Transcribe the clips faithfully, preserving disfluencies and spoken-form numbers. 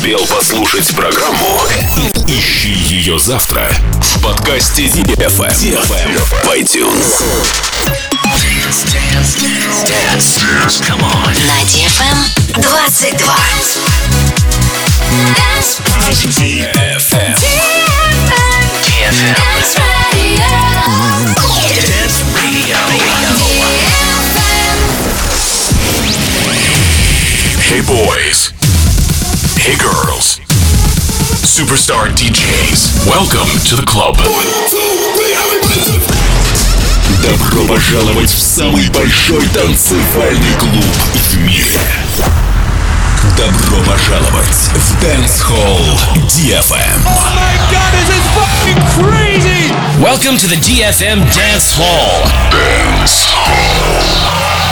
успел послушать программу, ищи ее завтра в подкасте ди эф эм в iTunes. Dance, dance, dance, dance, come on. На ди эф эм двадцать два. ди эф эм. ди эф эм. Dance Radio. Dance Radio. Hey boys. Hey girls. Superstar ди джейс. Welcome to the club. Добро пожаловать в самый большой танцевальный клуб в мире. Добро пожаловать в Dance Hall ди эф эм. Oh my God, this is fucking crazy! Welcome to the ди эф эм Dance Hall. Dance Hall.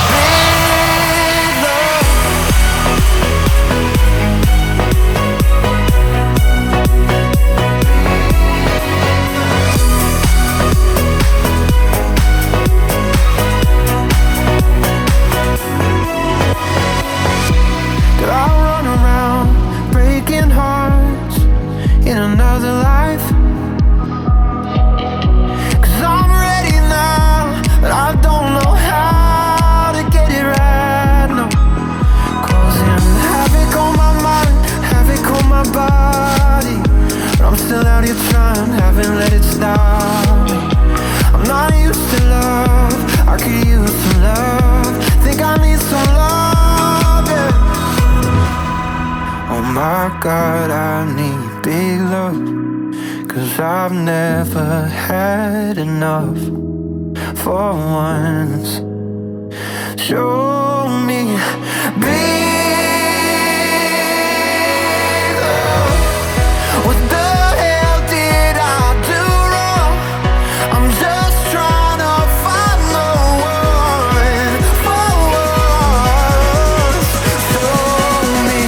God, I need big love, 'cause I've never had enough. For once, show me big love. What the hell did I do wrong? I'm just trying to find the one for once. Show me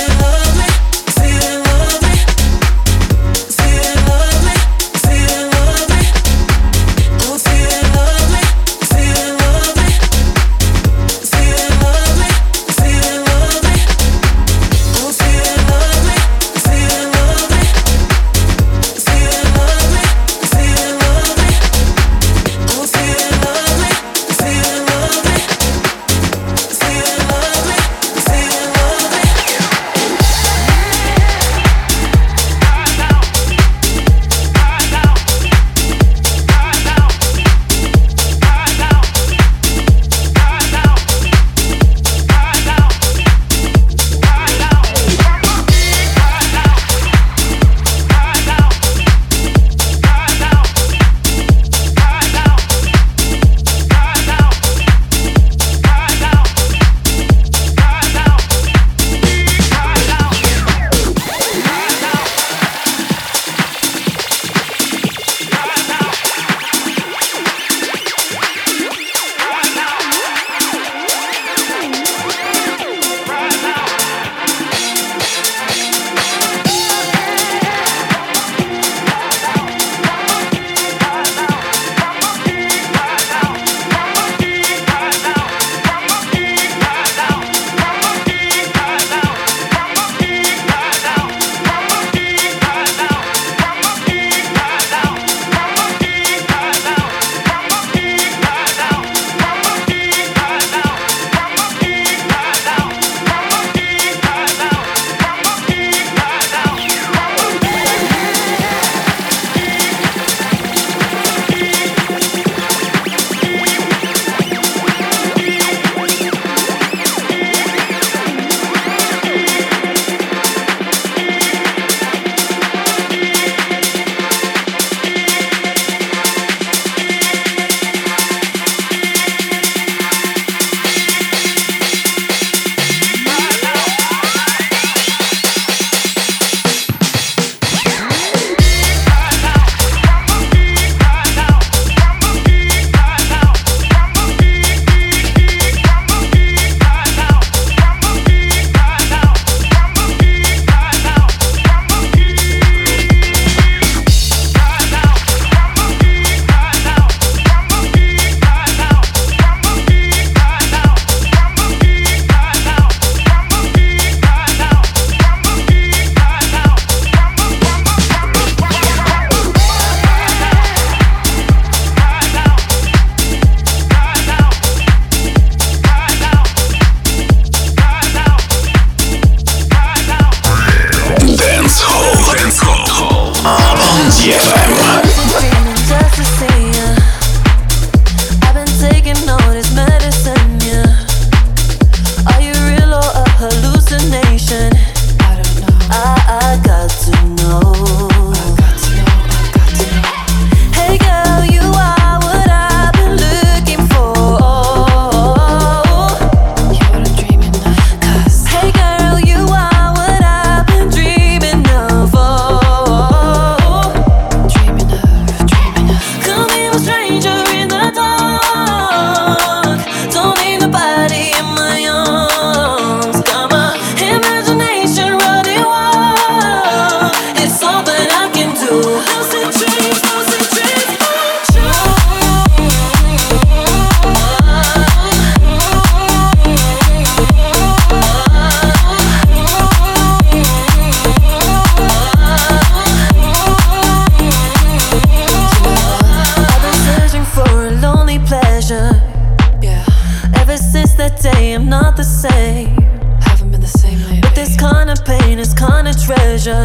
treasure.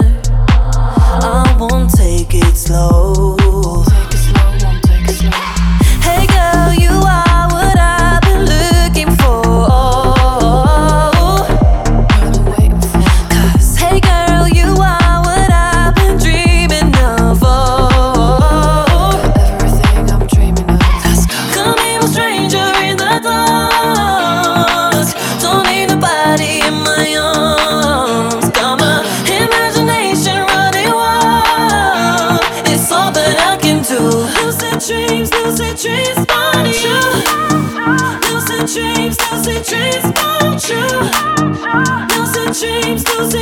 I won't take it slow. Take it slow, won't take it slow. Hey girl, you are what I've been looking for. What I'm waiting for. 'Cause hey girl, you are what I've been dreaming of. Everything I'm dreaming of. Let's go. Come here, a stranger in the dark. Don't need nobody in my arms. Got my imagination running wild. It's all that I can do.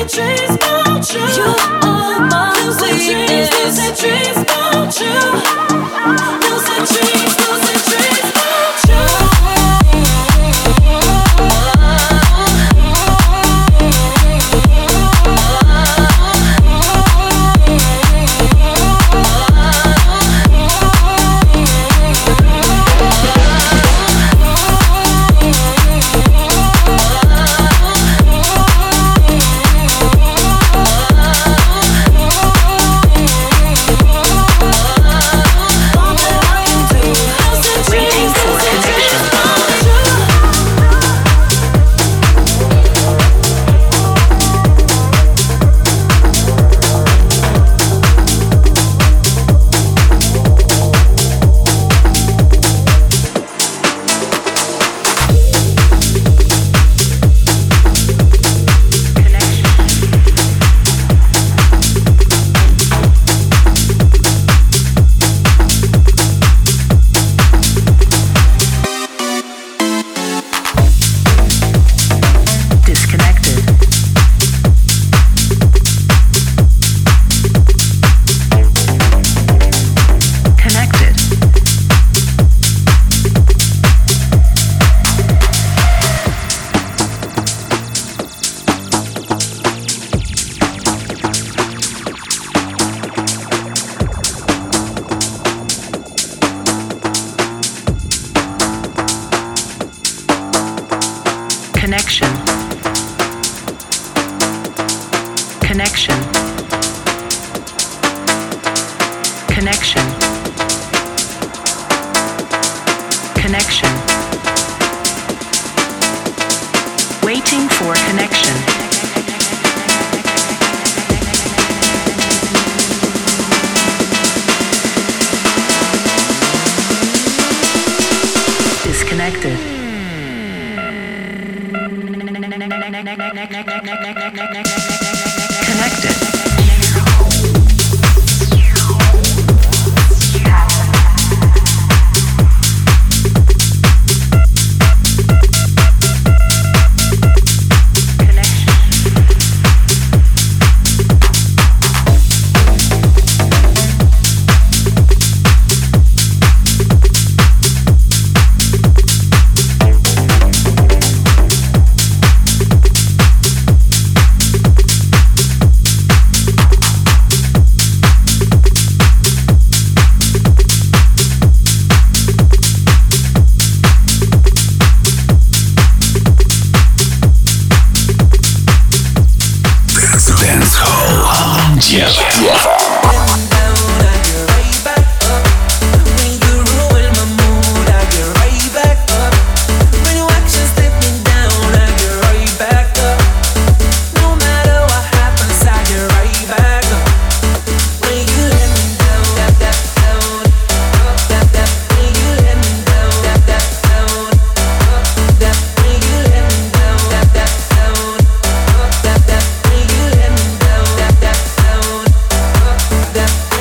That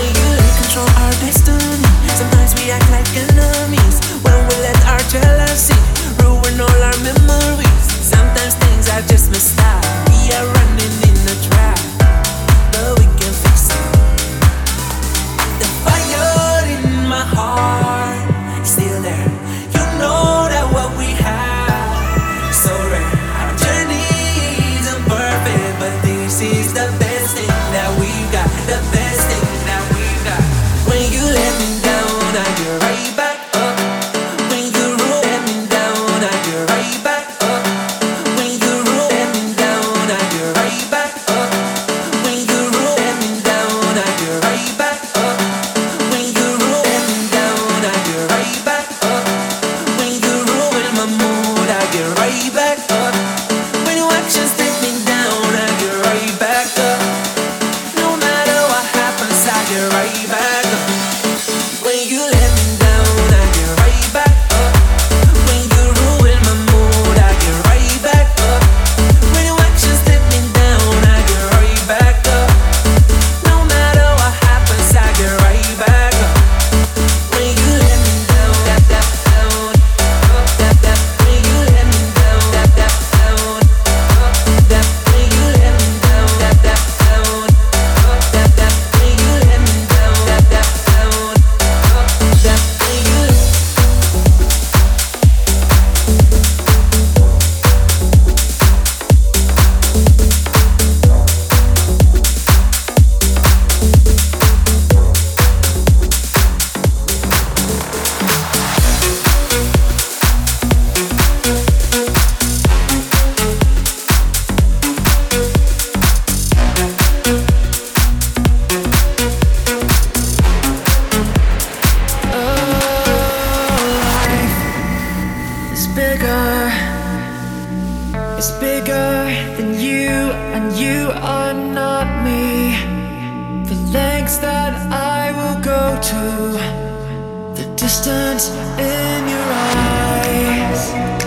are not me. The lengths that I will go to, the distance in your eyes.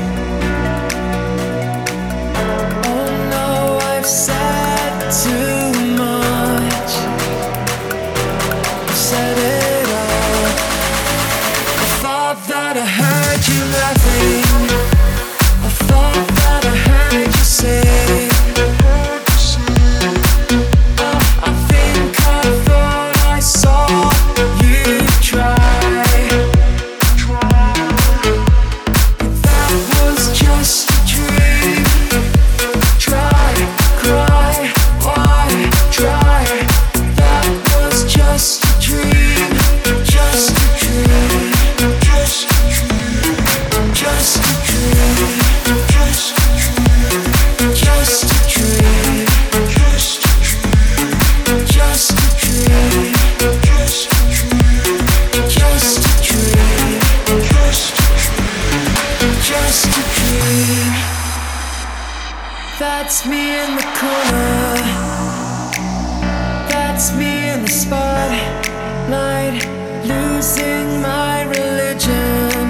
Oh no, I've said too much. I've said it all. I thought that I heard you laughing. I thought that I heard you say. That's me in the corner. That's me in the spotlight, losing my religion,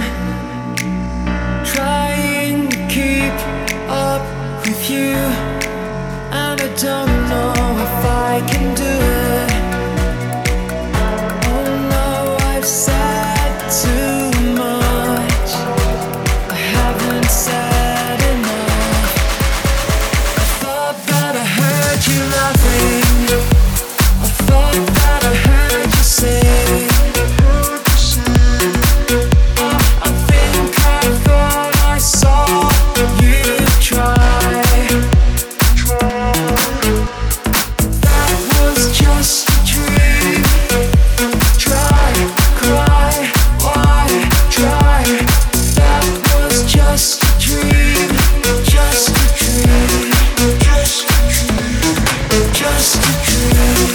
trying to keep up with you, and I don't know if I can do it. Oh no, I've said too much. I haven't said enough. I thought that I heard you laughing. I thought that I heard you say. I, I think I thought I saw you try. That was just a dream. Try, cry, why try? That was just a dream. Just a dream. Just a dream. Just a dream.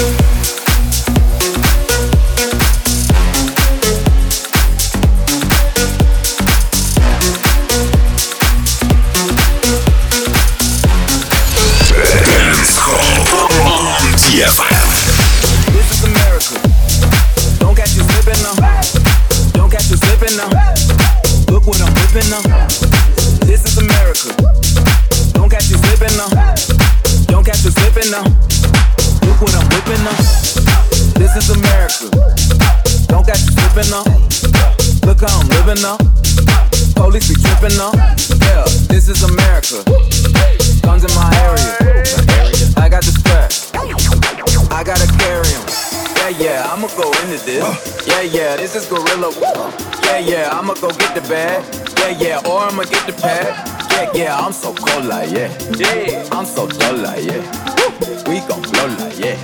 ди эф эм. This is America. Don't catch you slipping now. Don't catch you slipping now. Look what I'm whipping now. This is America. Don't catch you slipping now. Don't catch you slipping now. Look what I'm whipping now. This is America. Don't catch you slipping now. Look how I'm living now. Police be tripping now. Yeah, this is America. Guns in my area. I got the strap. I gotta carry 'em. Yeah, yeah, I'ma go into this. Yeah, yeah, this is gorilla. Yeah, yeah, I'ma go get the bag. Yeah, yeah, or I'ma get the pad. Yeah, yeah, I'm so cold like yeah. Yeah, I'm so dull like yeah. We gon' blow like yeah.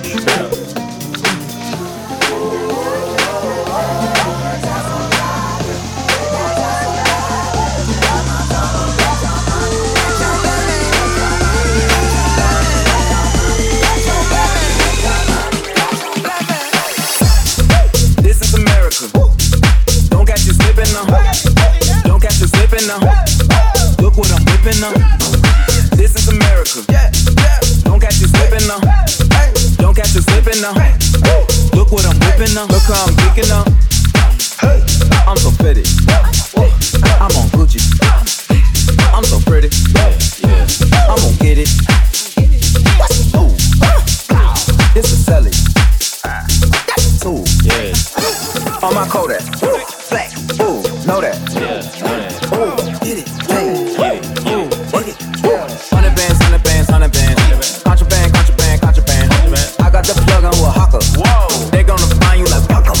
This is America. Don't catch you slipping now. Don't catch you slipping now. Look what I'm whipping now. This is America. Don't catch you slipping now. Don't catch you slipping now. Look what I'm whipping now. Look how I'm geeking now. I'm so pretty. I'm on Gucci. I'm so pretty. I'm gonna get it. Ooh. This is Sally. Ooh. On my Kodak. Black. Ooh. Know that. Ooh. Get it. Hey. Ooh. Work it. Hundred bands, hundred bands, hundred bands. Contraband, contraband, contraband. I got the plug on with a hawker. Whoa. They gonna find you like Paco.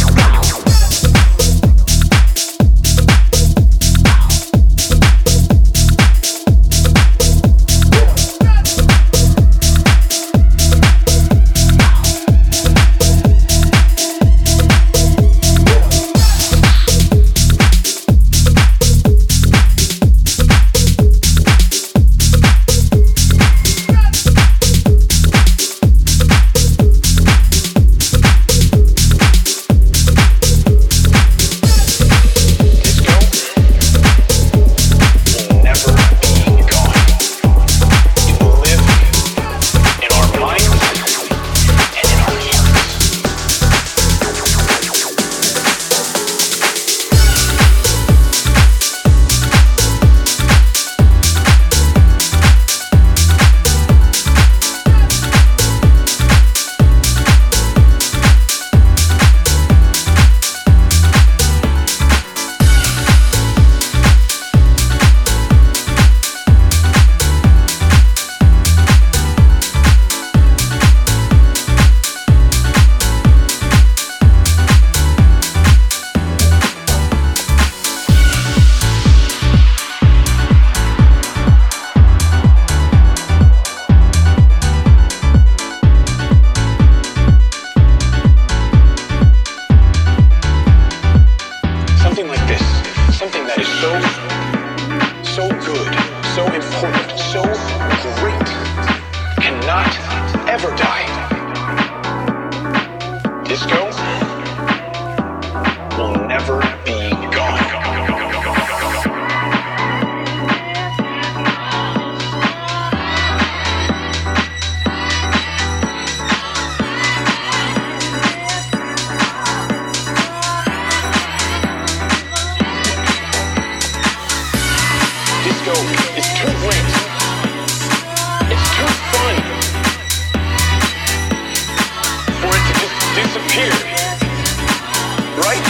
disappeared. Right?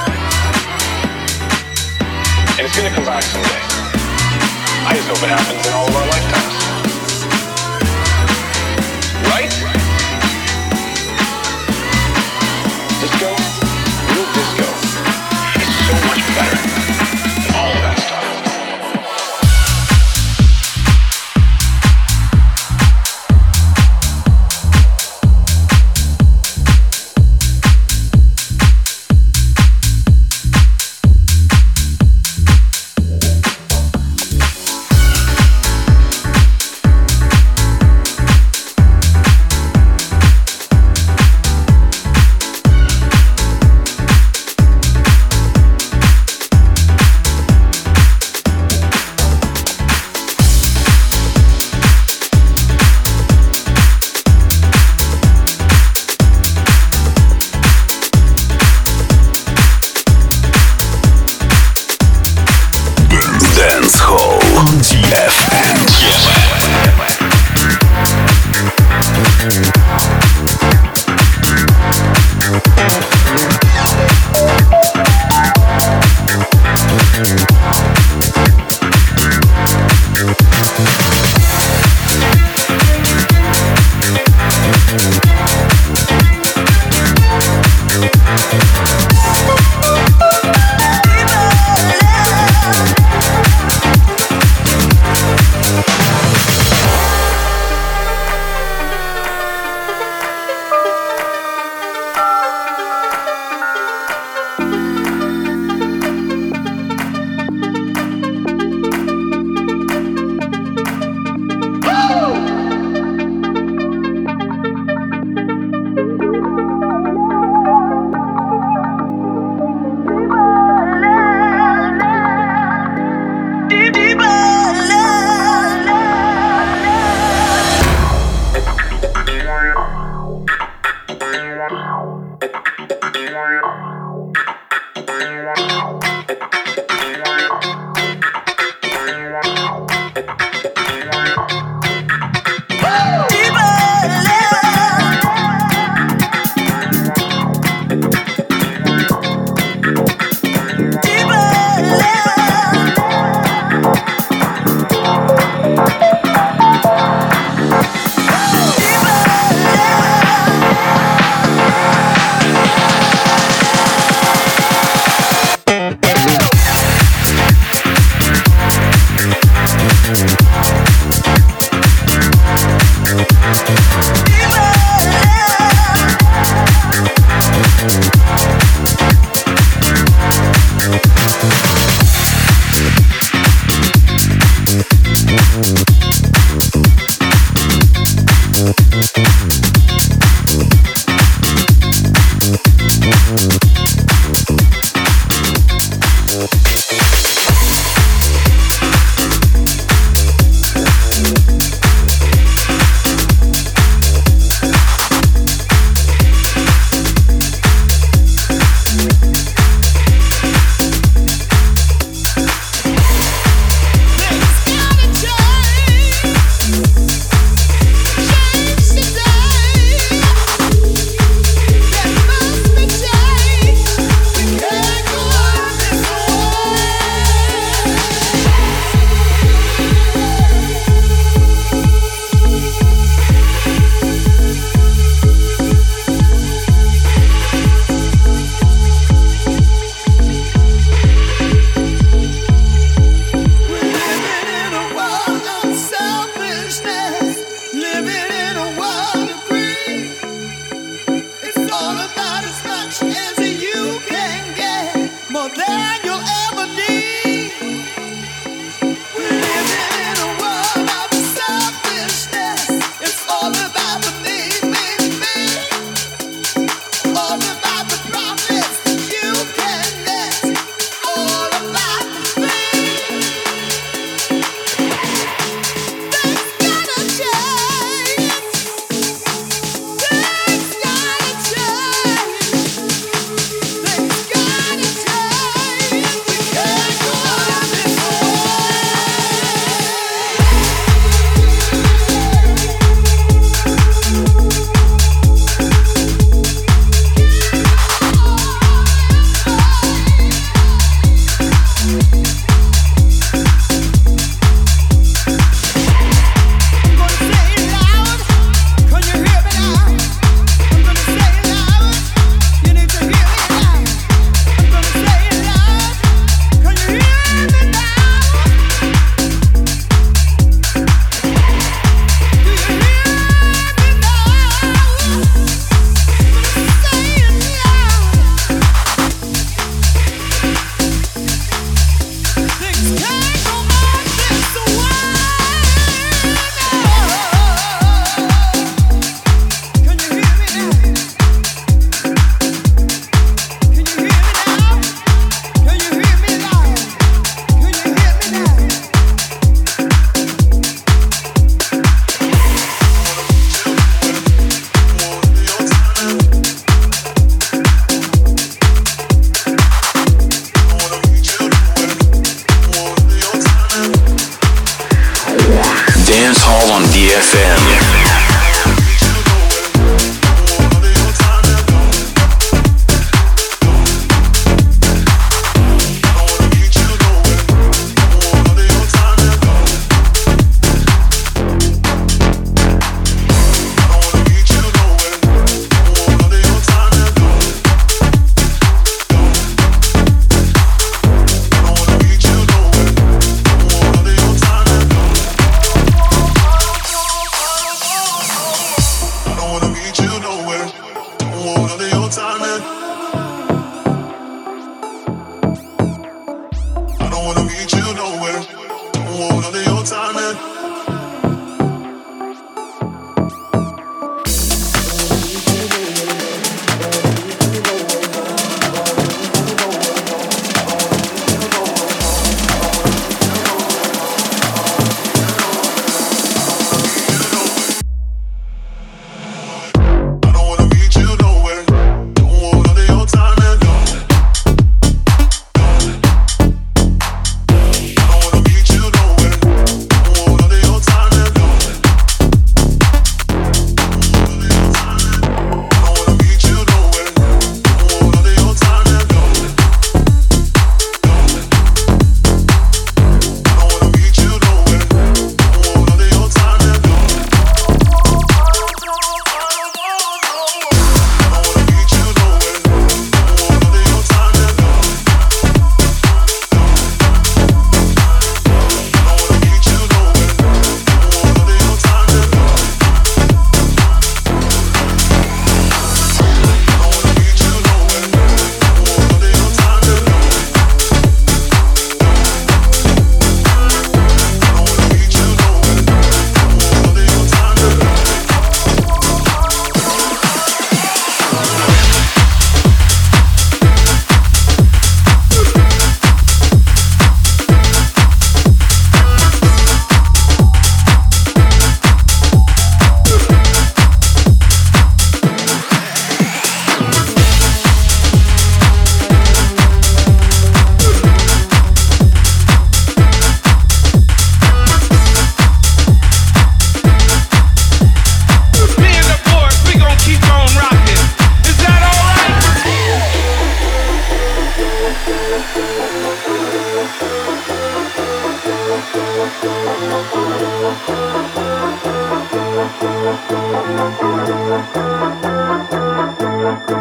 And it's gonna come back someday. I just hope it happens in all of our lifetimes. Right? Disco, real disco, is so much better than all of that stuff. Change today.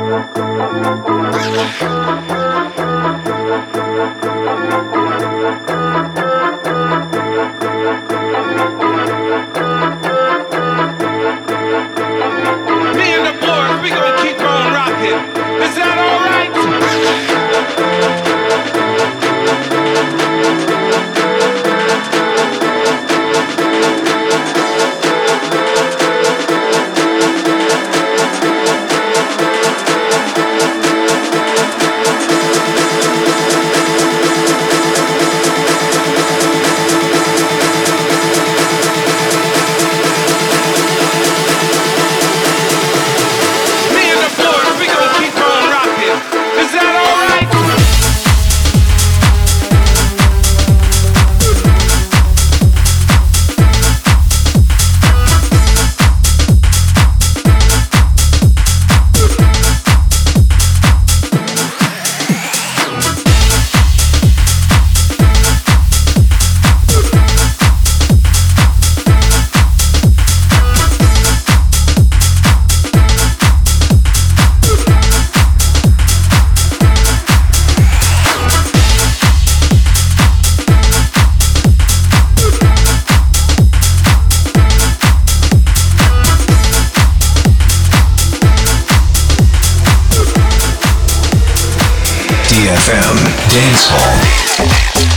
ди эф эм Dance Hall.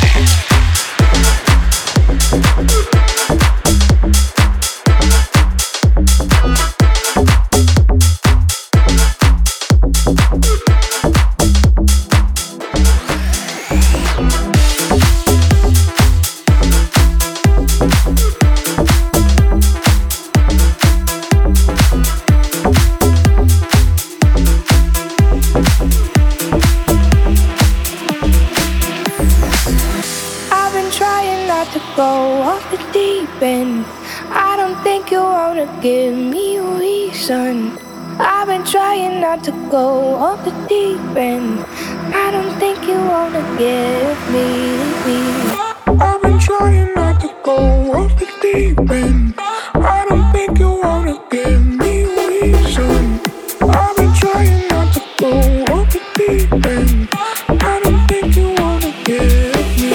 Give me a reason. I've been trying not to go off the deep end. I don't think you wanna give me. I've been trying not to go off the deep end. I don't think you wanna give me a reason. I've been trying not to go off the deep end. I don't think you wanna give me.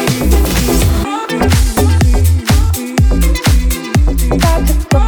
Got to go.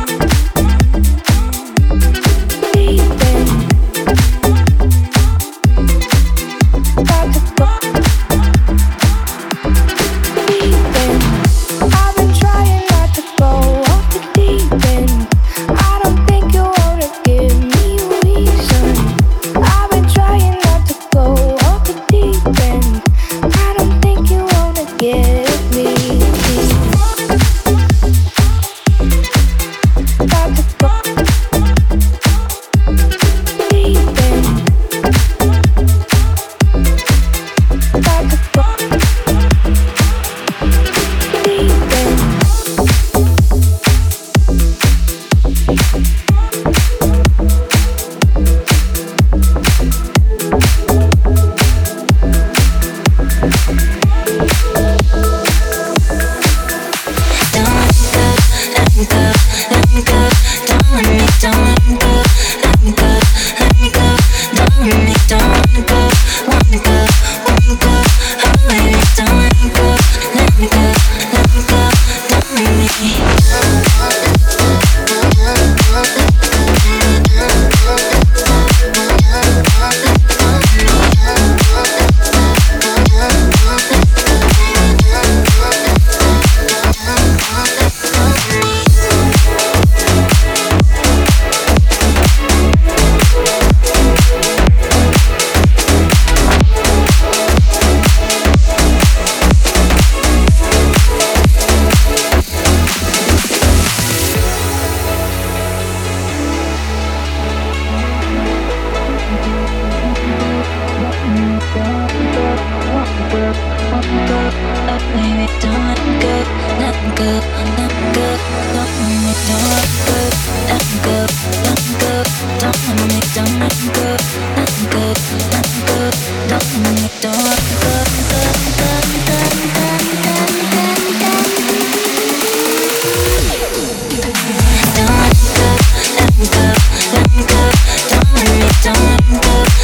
Don't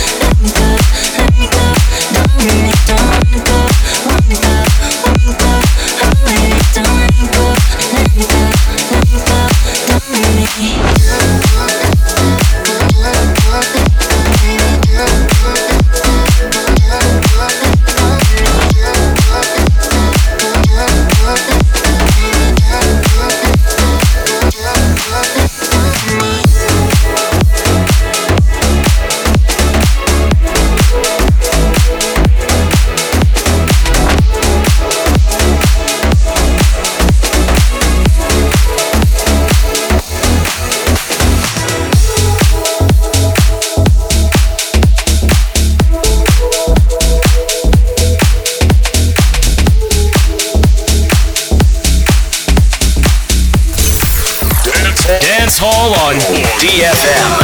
Hall on D F M.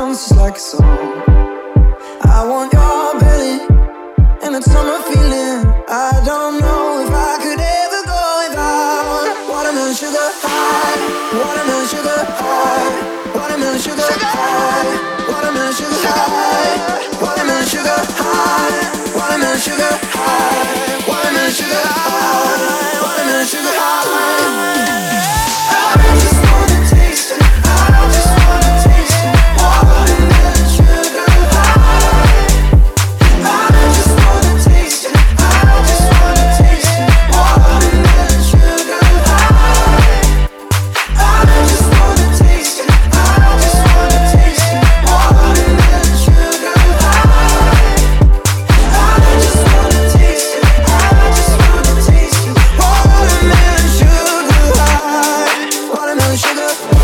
bounce just like a song. I want your belly and that summer feeling. I don't know if I could ever go without watermelon sugar high, watermelon sugar high, watermelon sugar high, watermelon sugar high, watermelon sugar high, watermelon sugar high, watermelon sugar high, watermelon sugar high. I just wanna taste it. I just wanna taste it. Watermelon sugar high. I just wanna taste it. I just wanna taste it. Watermelon sugar high. I just wanna taste it. I just wanna taste it. Watermelon sugar high. I just wanna taste it. I just wanna taste it. Watermelon sugar high. Watermelon sugar.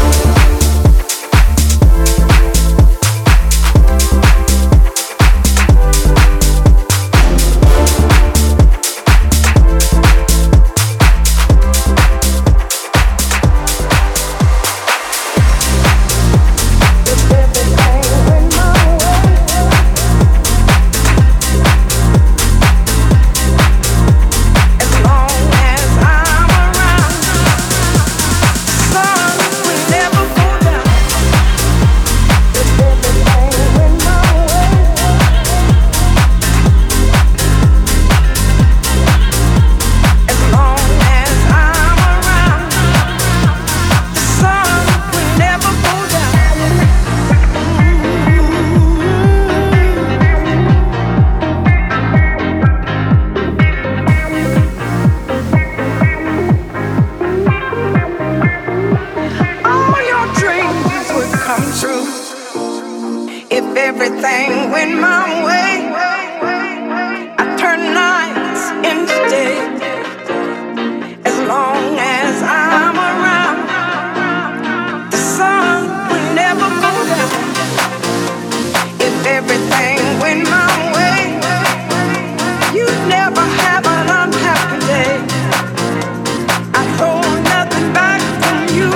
Everything went my way. I turn nights into day. As long as I'm around, the sun will never go down. If everything went my way, you'd never have an unhappy day. I hold nothing back from you.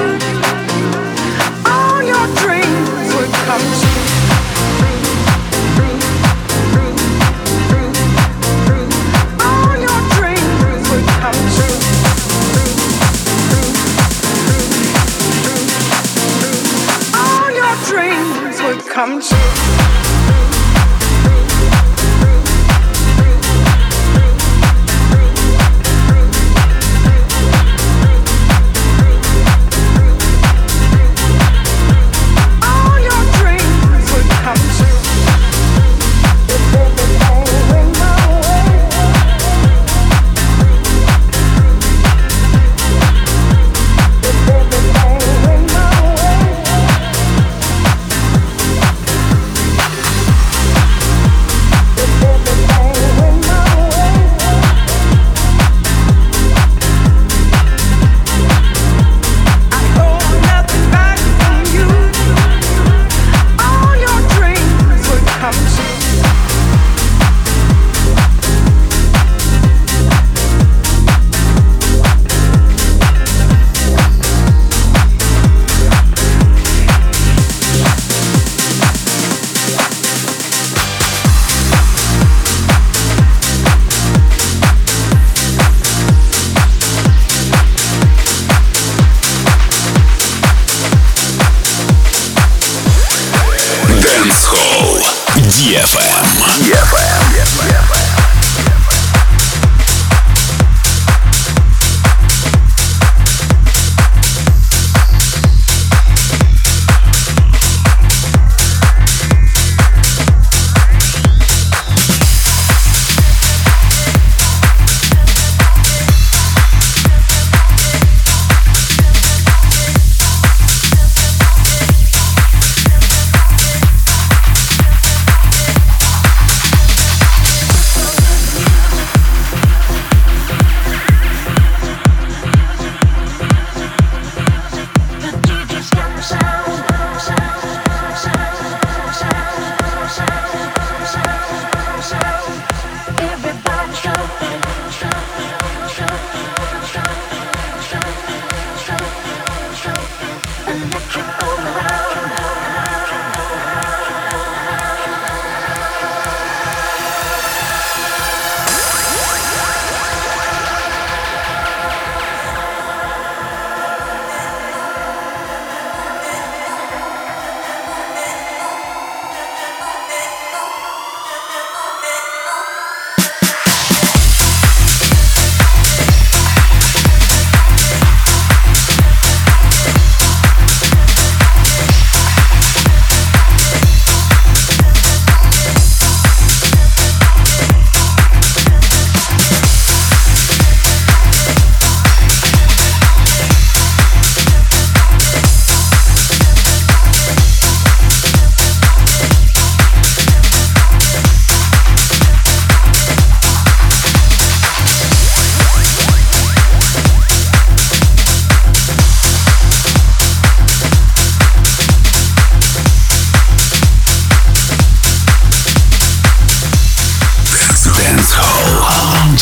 All your dreams would come true. Come true. ди эф эм. ди эф эм.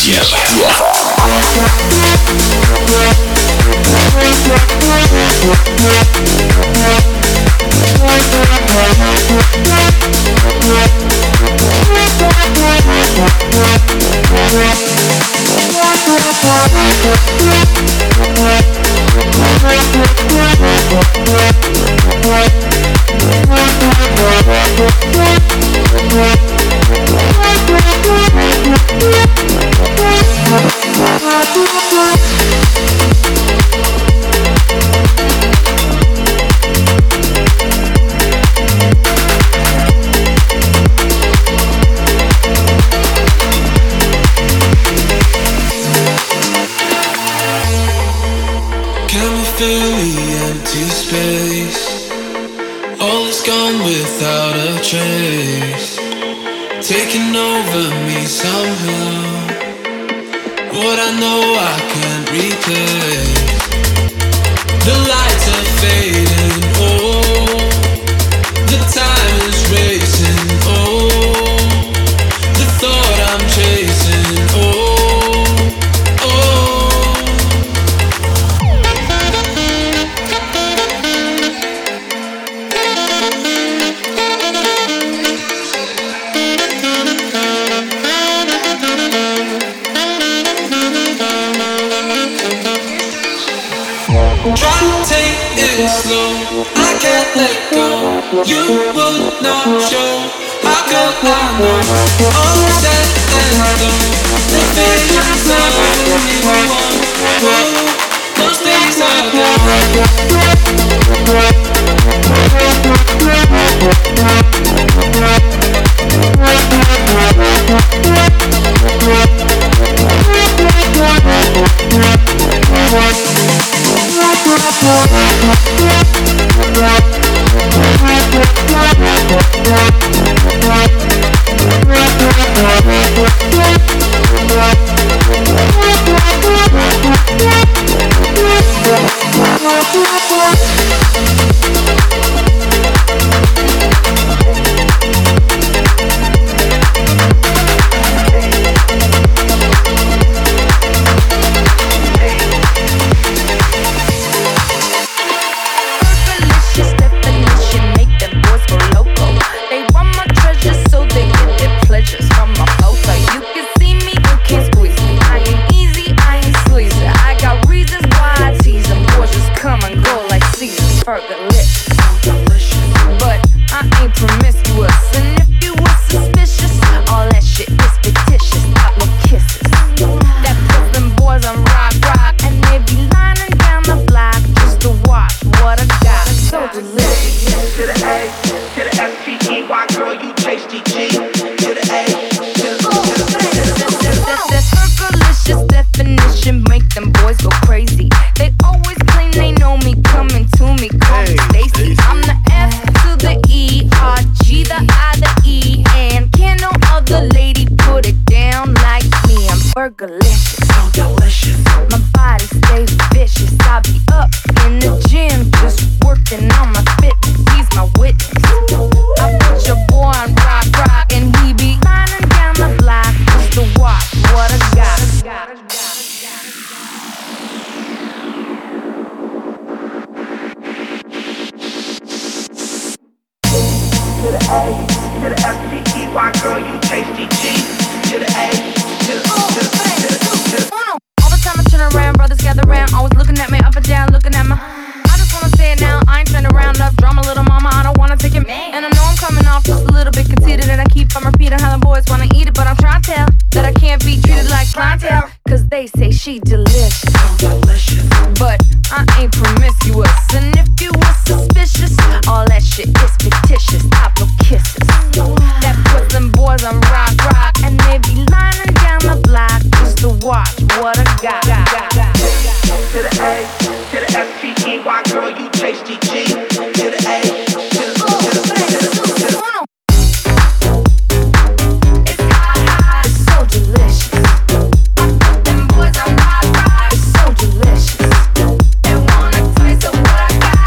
What I got.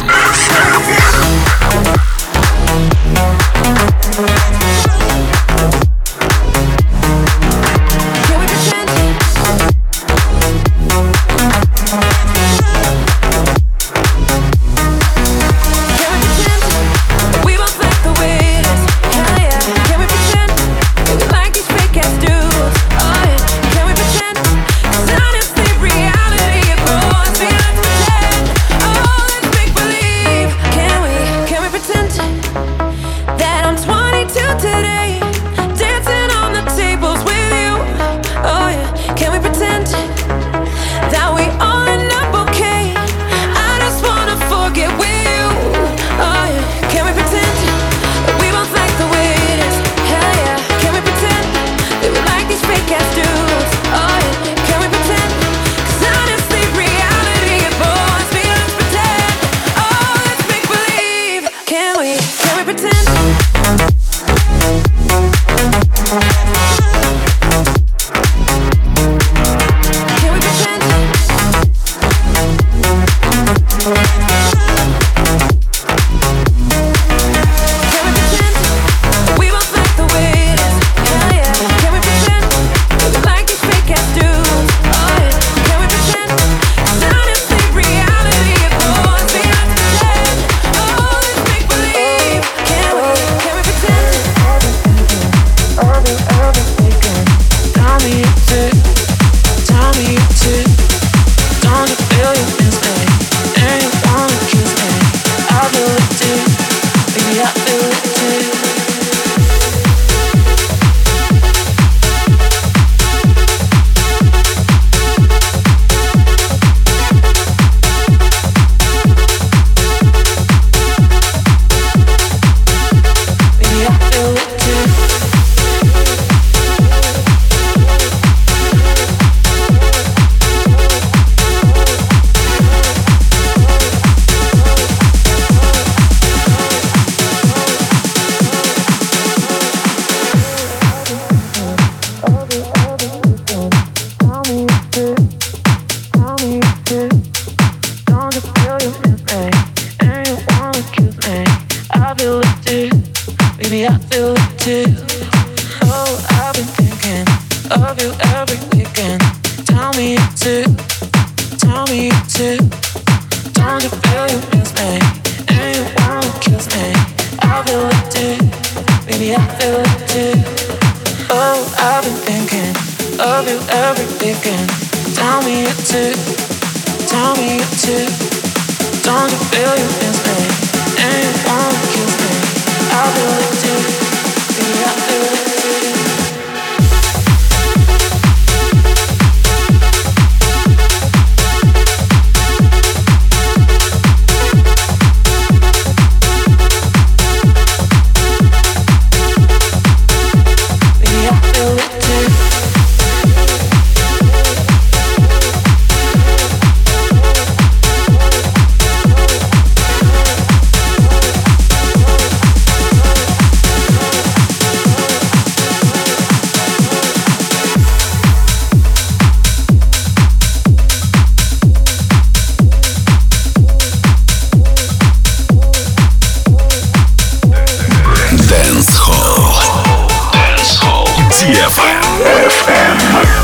Dance Hall. Dance Hall. ди эф эм.